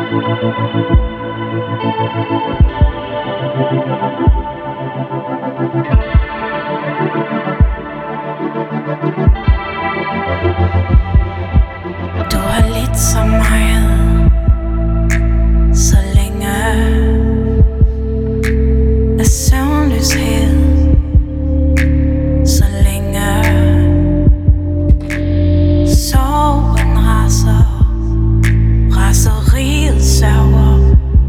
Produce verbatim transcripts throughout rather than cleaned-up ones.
Du har lidt så meget, så længe af søvnløshed, så længe sorgen raser, raseriet sørger.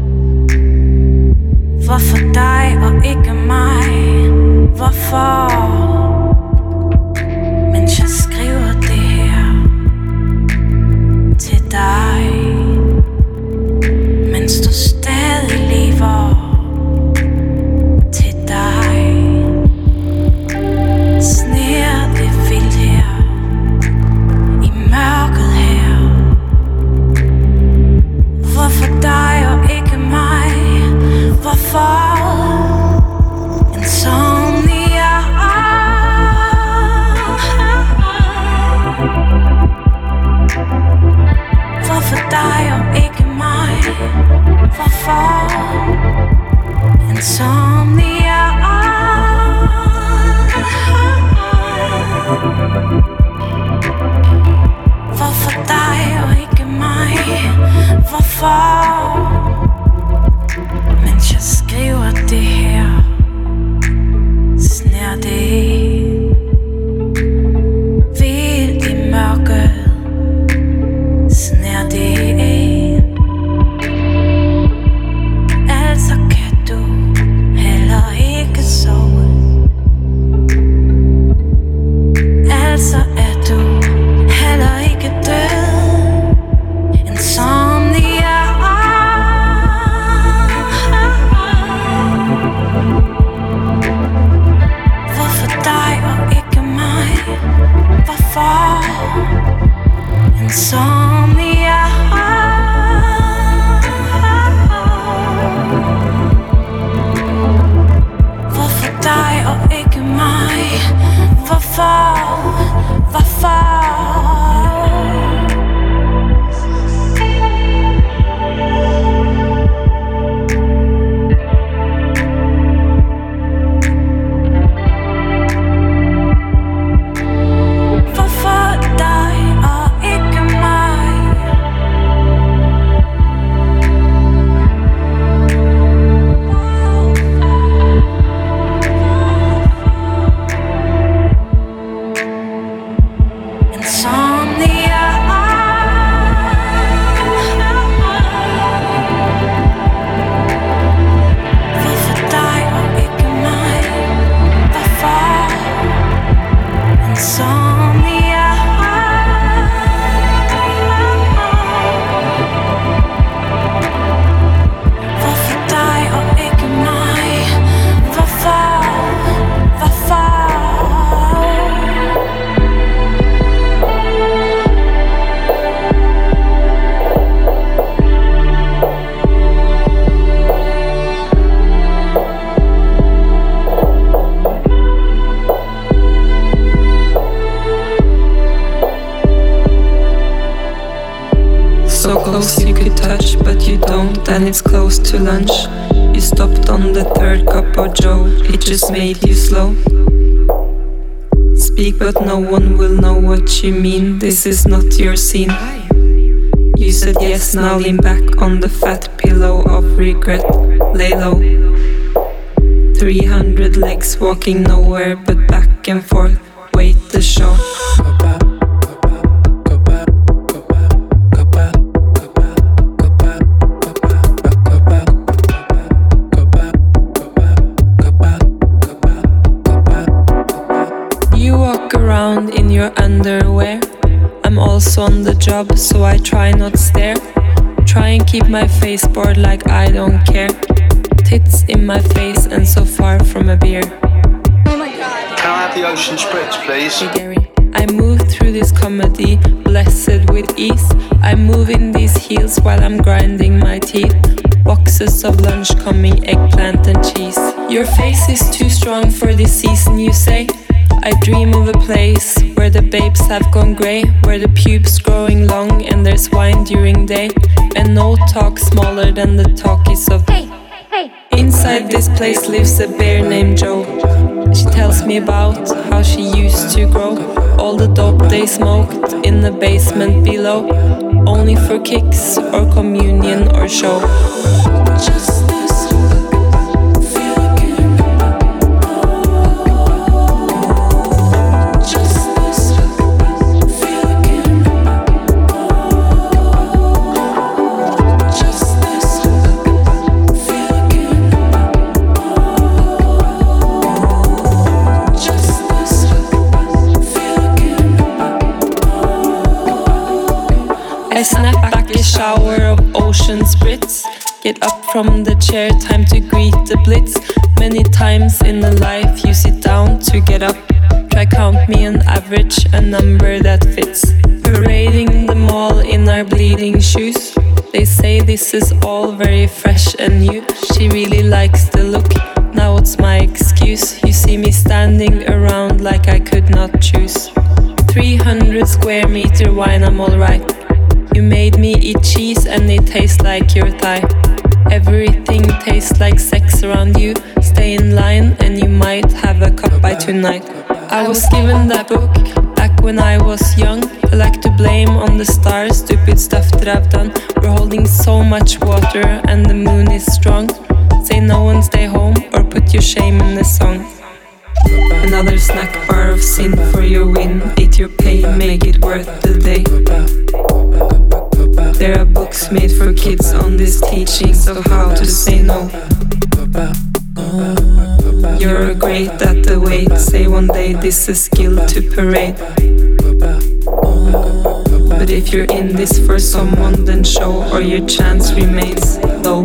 Hvorfor dig og ikke mig? Hvorfor? Mens jeg skriver det her til dig, mens du stadig lever. Til dig sner det vildt her i mørket her. Hvorfor dig og ikke mig? Hvorfor? Insomnia. Hvorfor dig og ikke mig? Hvorfor? Insomnia. Hvorfor dig og ikke mig? Hvorfor? Mens jeg skriver det her, sner det vildt i mørket. Sner det altså kan du heller ikke sove. Altså er du heller ikke død. Insomnia. Hvorfor dig og ikke mig? Hvorfor? Insomnia. Hvorfor dig og ikke mig? Hvorfor? Hvorfor? And it's close to lunch. You stopped on the third cup of joe. It just made you slow. Speak but no one will know what you mean. This is not your scene. You said yes, now lean back on the fat pillow of regret. Lay low. Three hundred legs walking nowhere but back and forth. Wait the show. In your underwear, I'm also on the job, so I try not stare. Try and keep my face bored like I don't care. Tits in my face and so far from a beer. Oh my god. Can I have the ocean spritz, please? Hey Gary, I move through this comedy, blessed with ease. I move in these heels while I'm grinding my teeth. Boxes of lunch coming, eggplant and cheese. Your face is too strong for this season, you say. I dream of a place where the babes have gone grey, where the pubes growing long and there's wine during day, and no talk smaller than the talkies of. Hey, hey. Inside this place lives a bear named Joe. She tells me about how she used to grow all the dope they smoked in the basement below, only for kicks or communion or show. Just I snap back a shower of ocean spritz. Get up from the chair, time to greet the blitz. Many times in a life you sit down to get up. Try count me an average, a number that fits. Parading the mall in our bleeding shoes. They say this is all very fresh and new. She really likes the look, now it's my excuse. You see me standing around like I could not choose. three hundred square meter wine, I'm alright. You made me eat cheese and it tastes like your thigh. Everything tastes like sex around you. Stay in line and you might have a cup by tonight. I was given that book back when I was young. I like to blame on the stars, stupid stuff that I've done. We're holding so much water and the moon is strong. Say no and stay home or put your shame in the song. Another snack bar of sin for your win. Eat your pay, make it worth the day. There are books made for kids on these teachings of how to say no. You're great at the weight. Say one day this is skill to parade. But if you're in this for someone, then show or your chance remains low.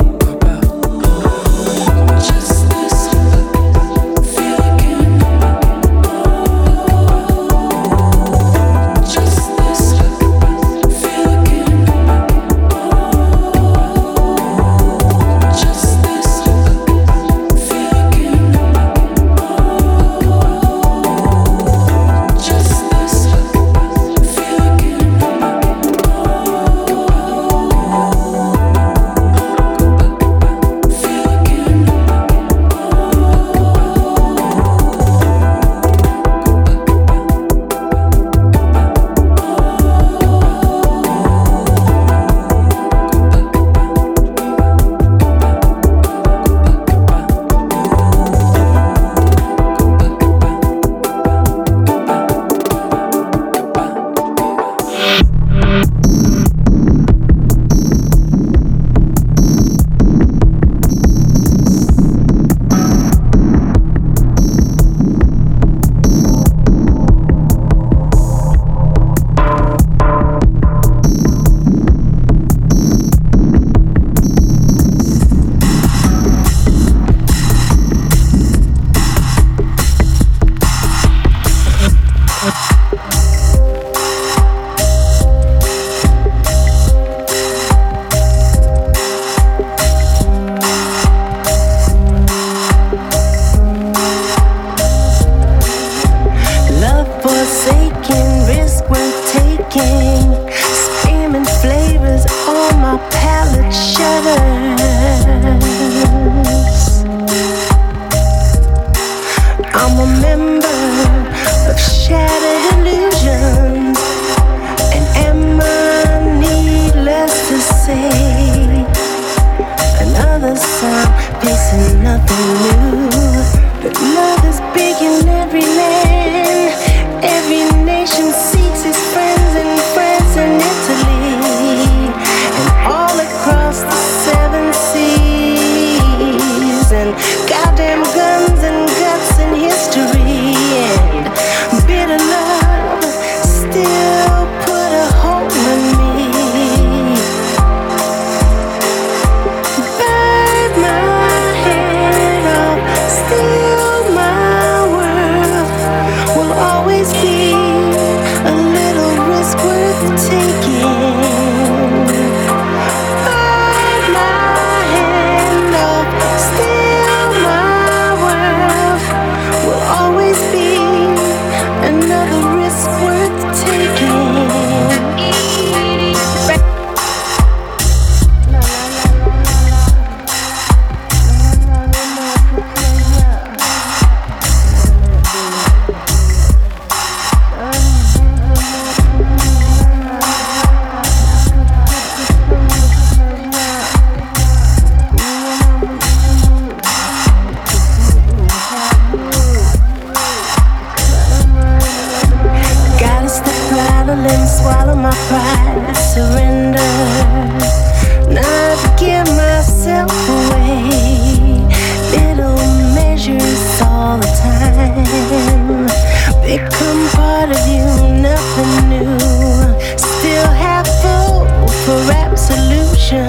swallow my pride, surrender, not give myself away. Little measures all the time become part of you, nothing new. Still have full for absolution.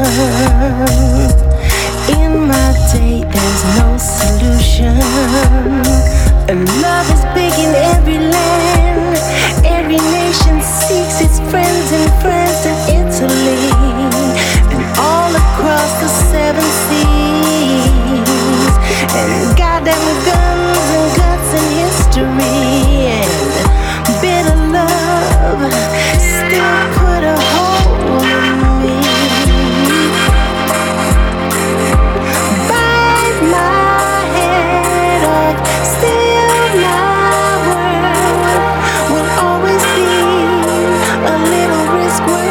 In my day, there's no solution. And love is big in every land. Every nation seeks its friends and friends in Italy and all across the seven seas. And goddamn guns and guts and history and bitter love still put a hole in me. Bite my head off, still my world will always be a little risk worth.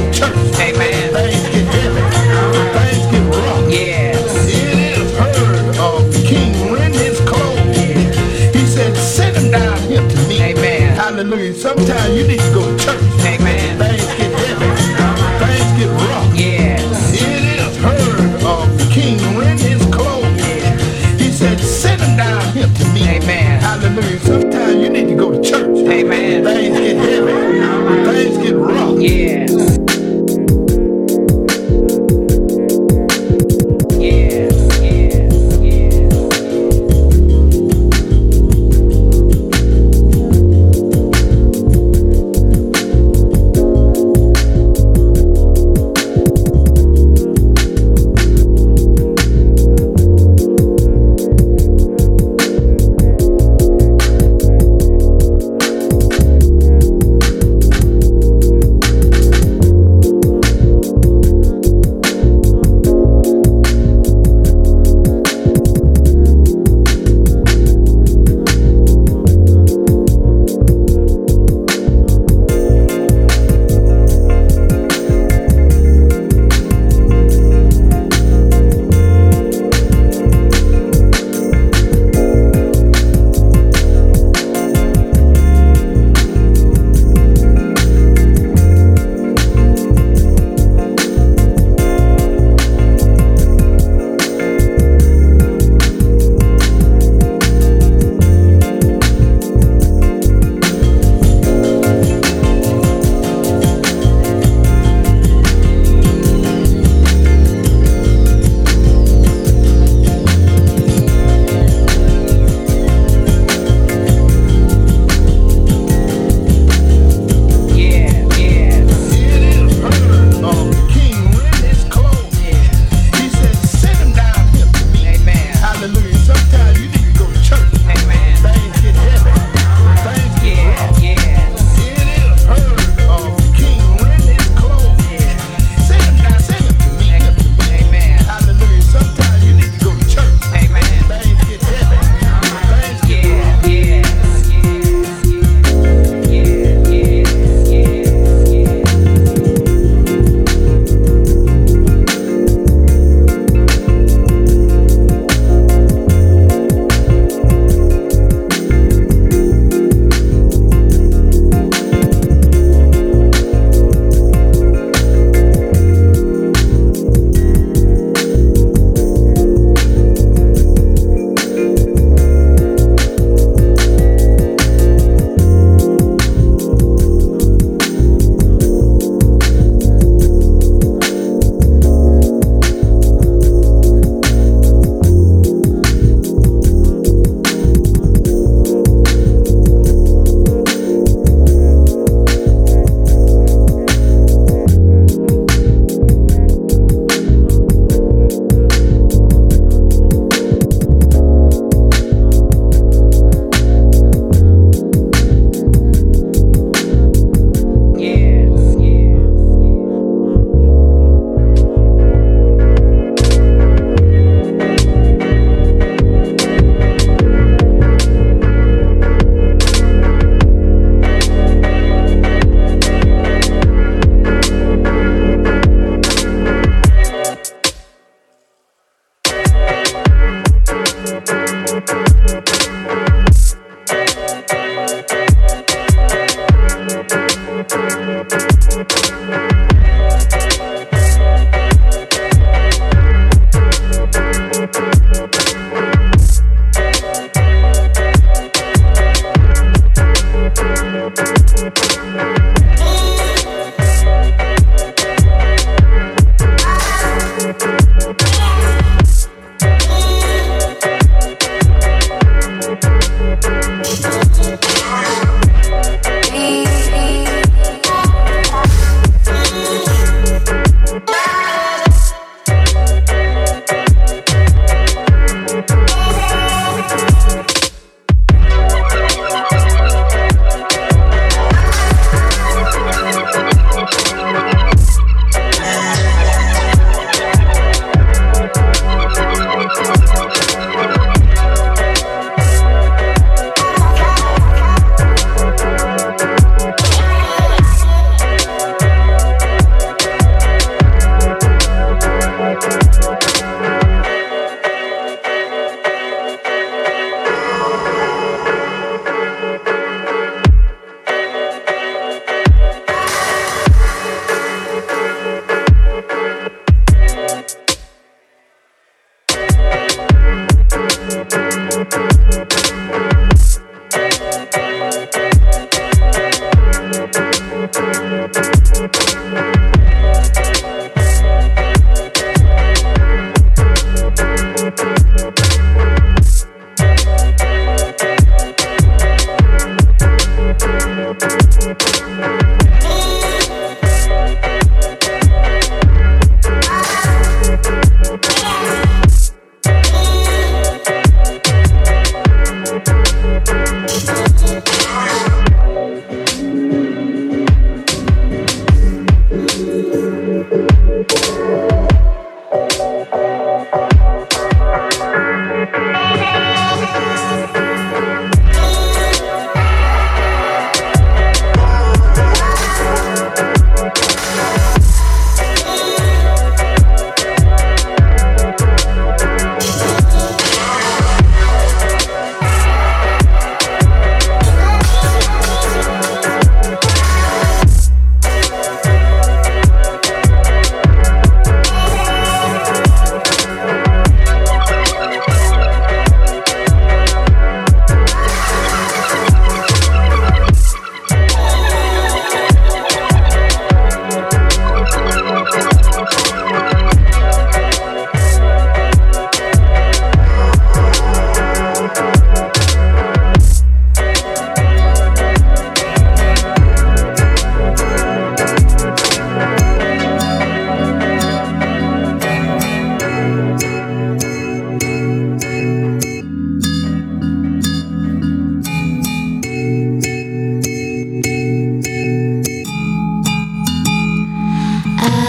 to church. Amen. Things get heavy. Things get rough. Yeah. It is heard of the king rend his clothes. He said, send him down here to me. Amen. Hallelujah. Sometimes you need to go to church. Amen. Things get heavy. Things get rough. Yeah. It is heard of the king rend his clothes. He said, send him down here to me. Amen. Hallelujah. Sometimes you need to go to church. Amen. Things get heavy. Things get rough. Yeah.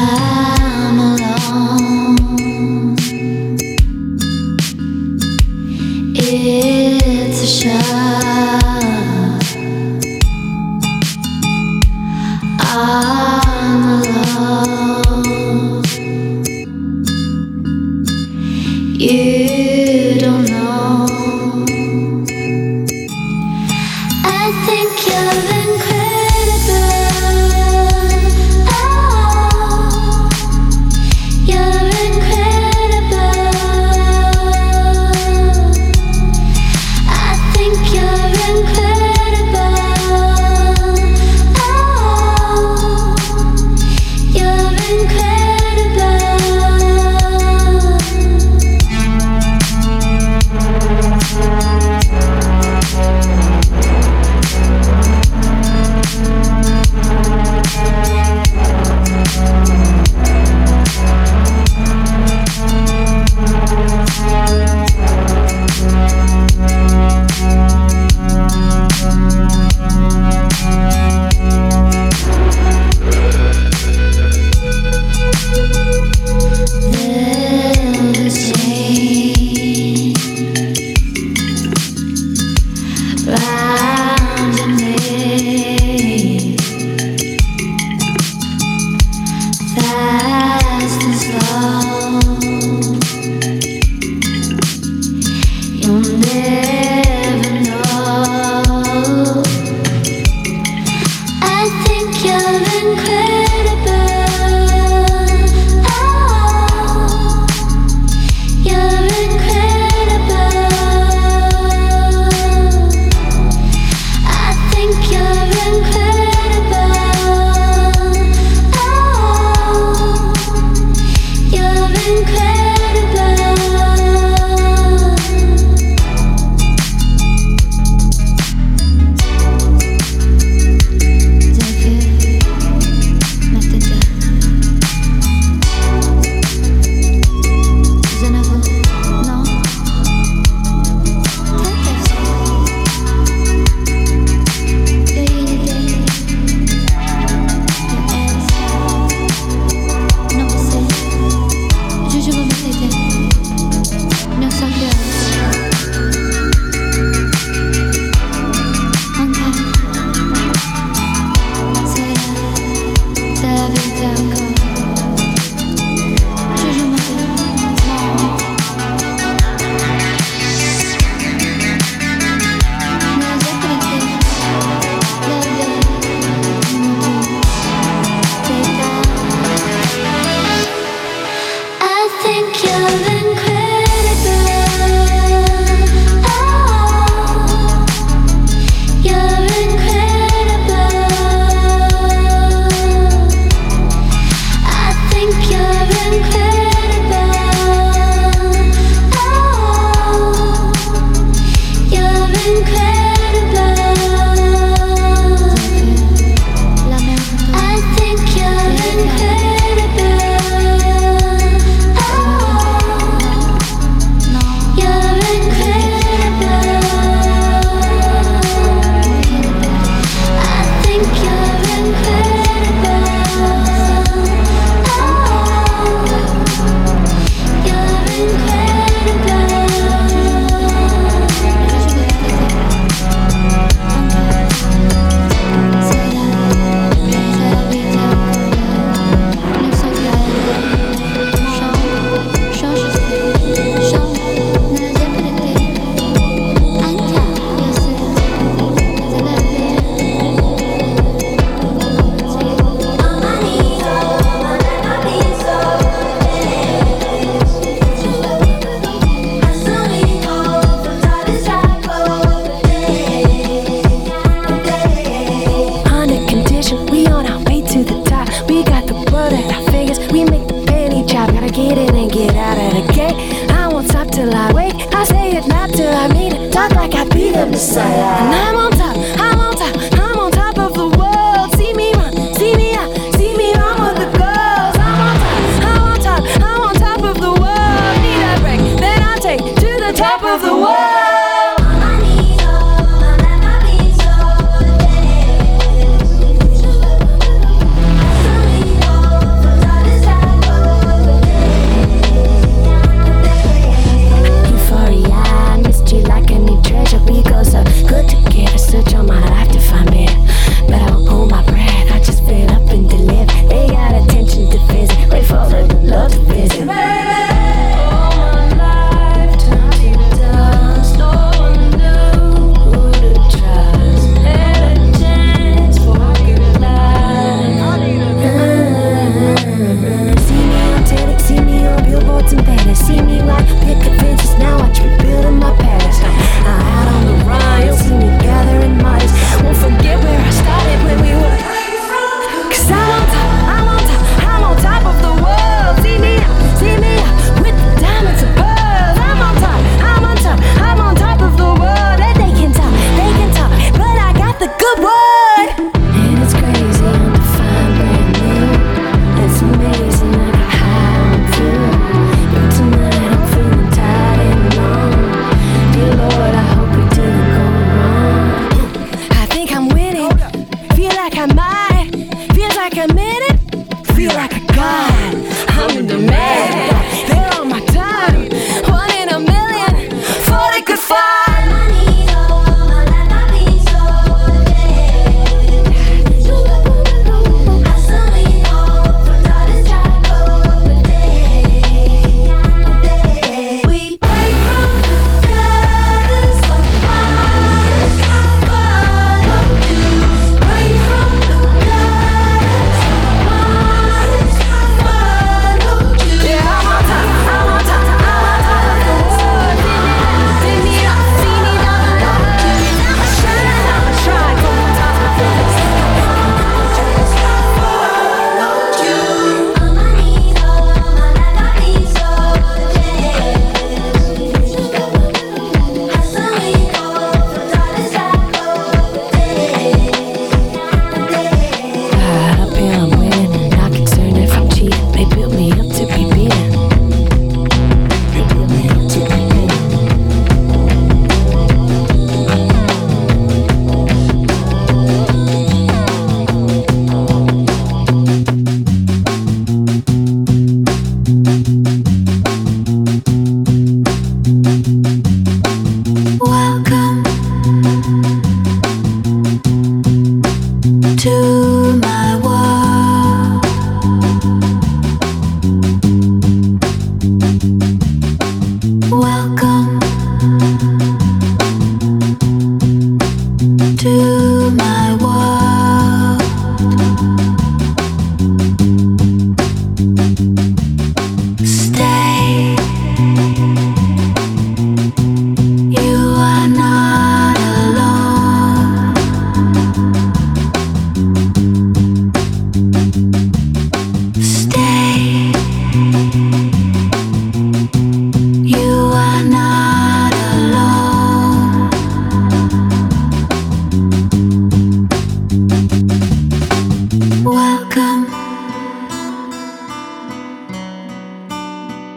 I'm alone. It's a shock. I'm alone. You don't know. I think you're incredible. Oh, you're incredible. I think you're incredible. Oh, you're incredible.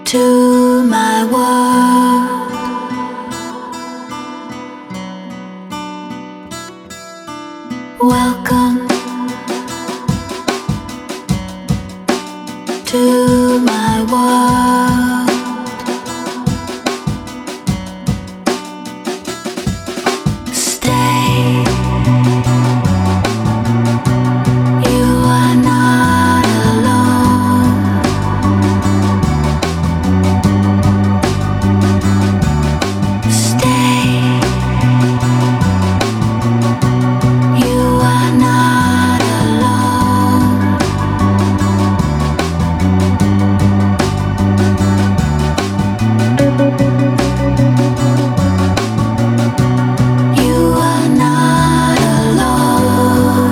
to my world. Welcome to my world. Stay. You are not alone. Stay. You are not alone. You are not alone.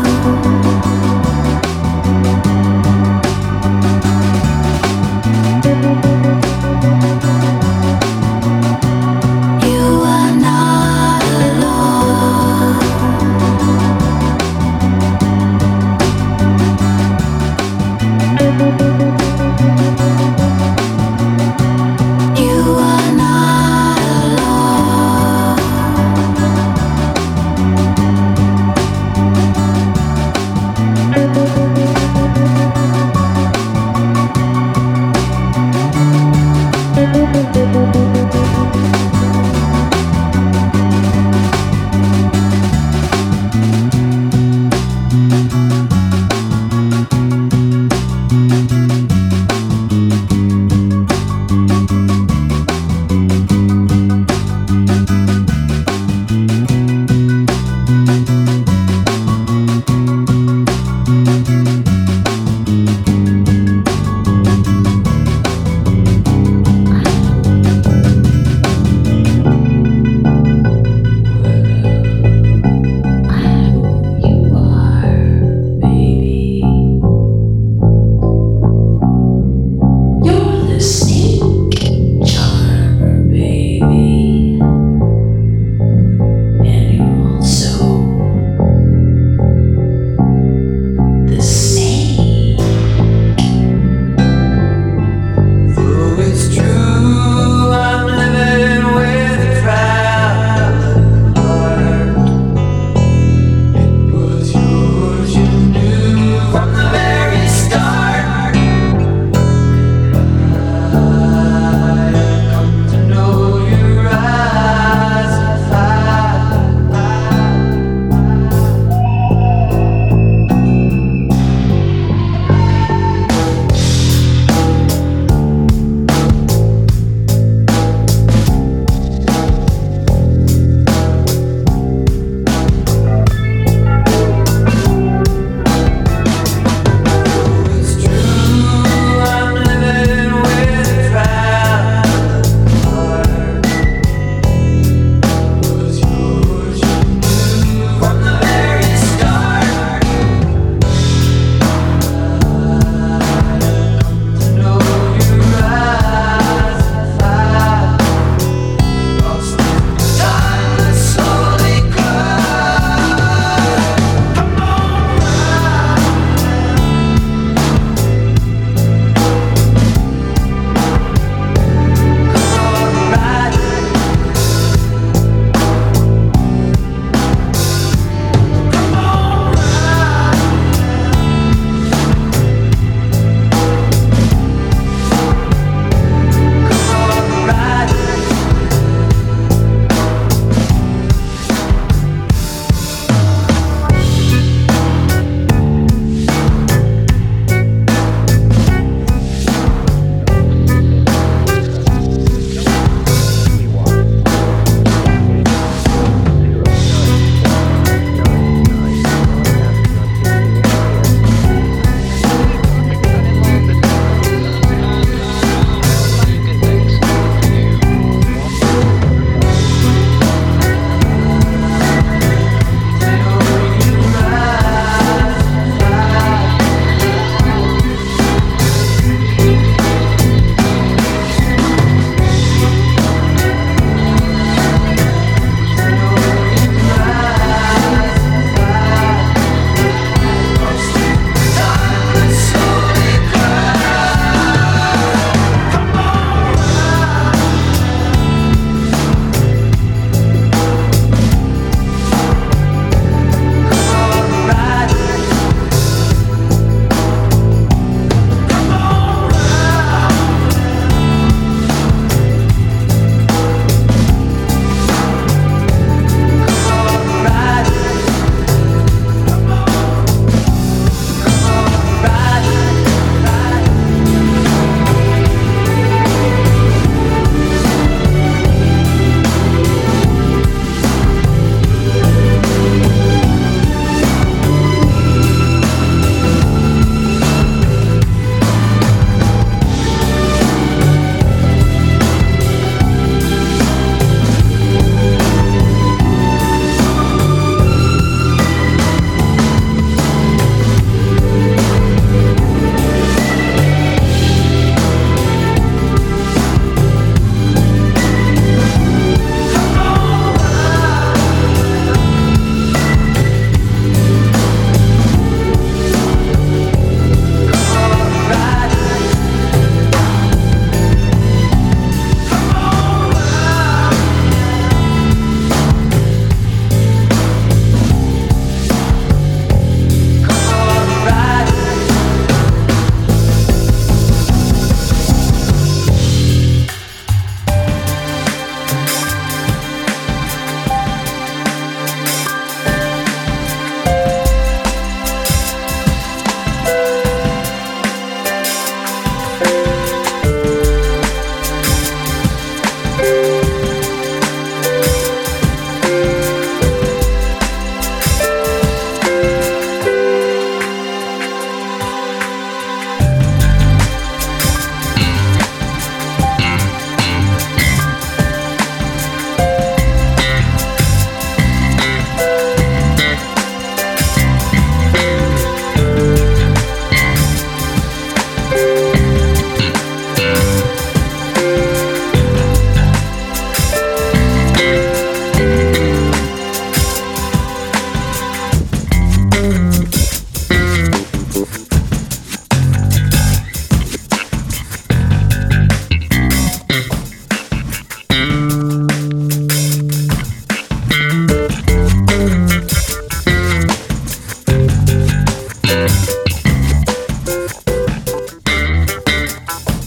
You are not alone. You are not alone.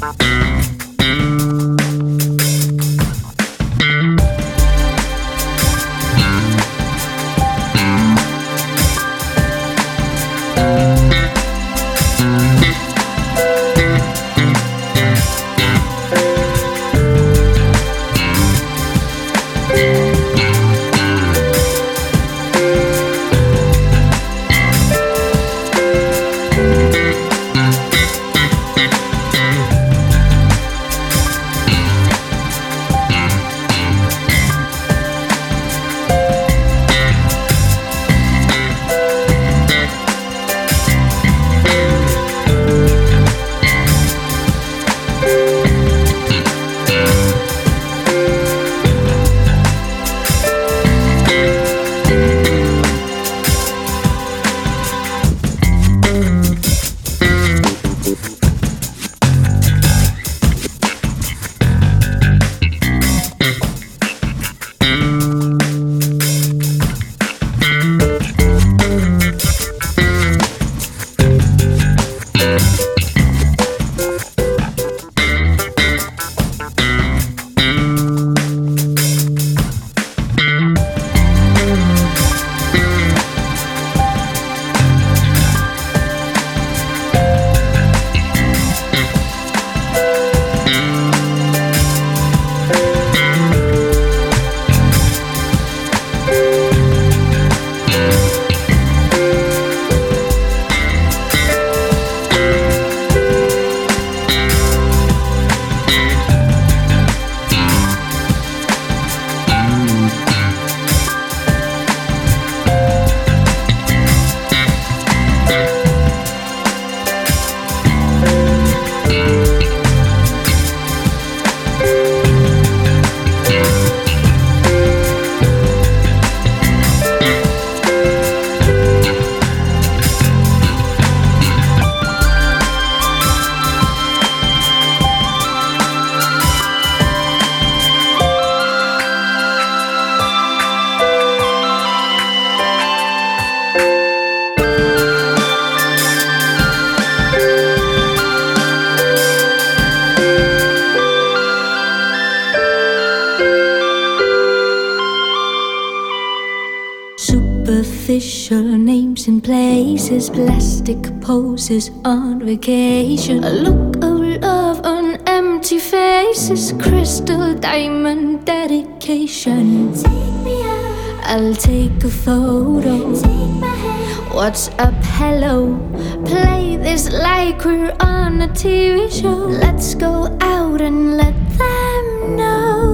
Superficial names and places, plastic poses on vacation, a look of love on empty faces, crystal diamond dedication. Take me out, I'll take a photo. Take my hand. What's up, hello? Play this like we're on a T V show. Let's go out and let them know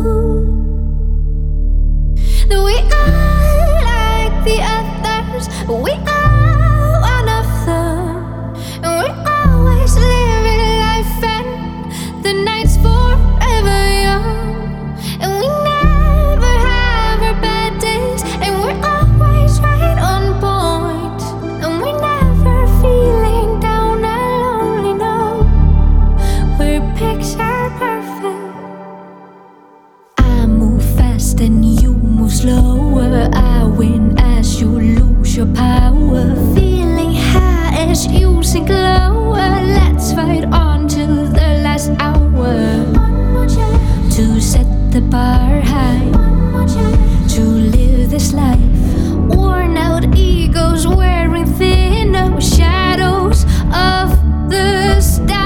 that we are like the others. We are one of them, and we're always living life, and the night's forever young, and we never have our bad days, and we're always right on point, and we're never feeling down alone. No, we're picture perfect. I move fast and you move slower. I win as you lose your power. Feeling high as you sink lower. Let's fight on till the last hour. One more chance to set the bar high. One more chance to live this life. Worn out egos wearing thinner shadows of the stars.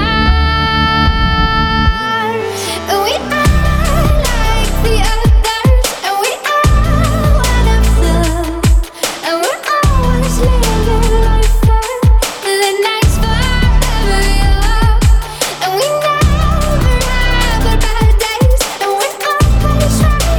And we are like the others, and we are one of them, and we're always living life fast. The night's forever young, and we never have our bad days, and we're always right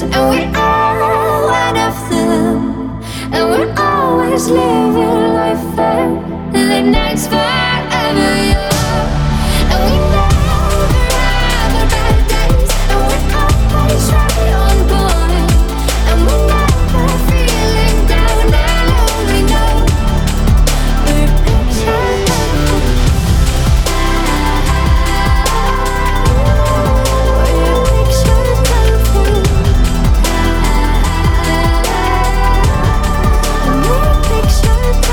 and we are one of them, and we're always living life fair. The night's forever young, and we never have our bad days, and we're always right on point, and we're never feeling down and lonely. No, we're pictured. Picture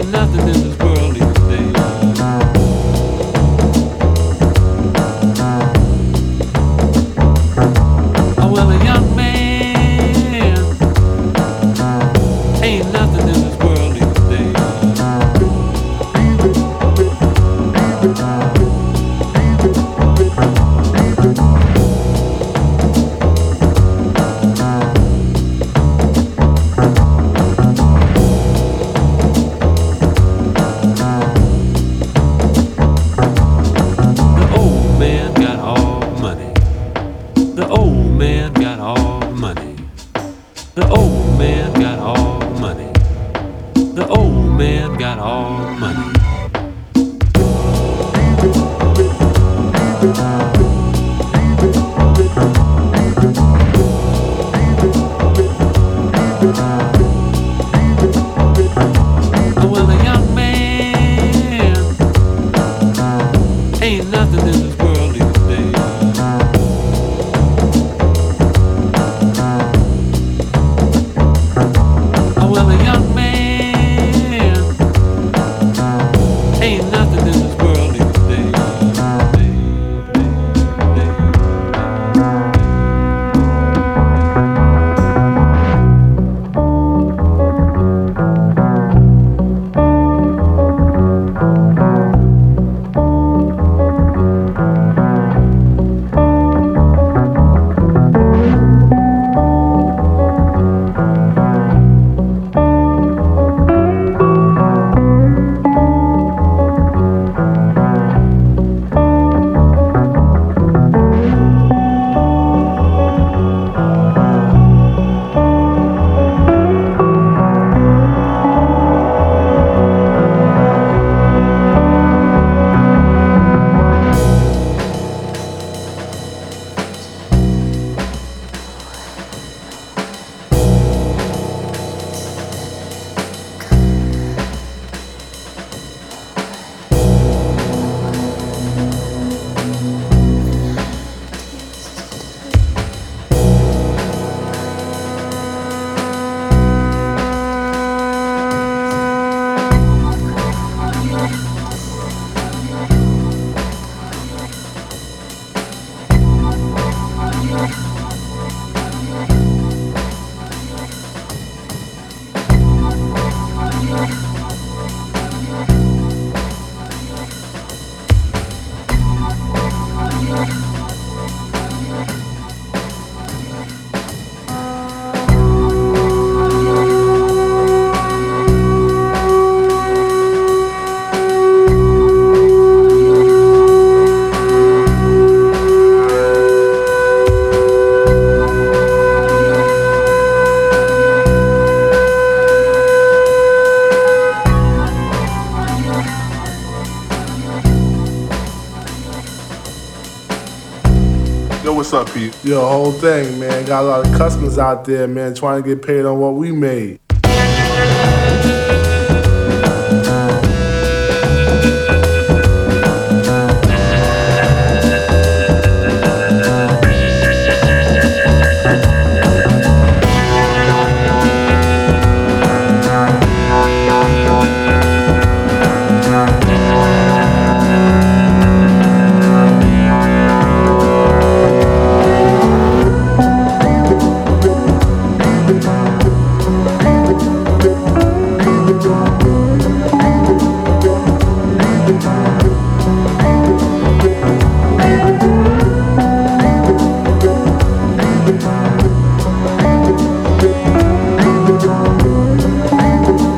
What's up, Pete? Yo, whole thing, man. Got a lot of customers out there, man, trying to get paid on what we made.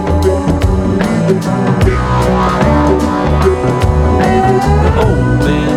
The old man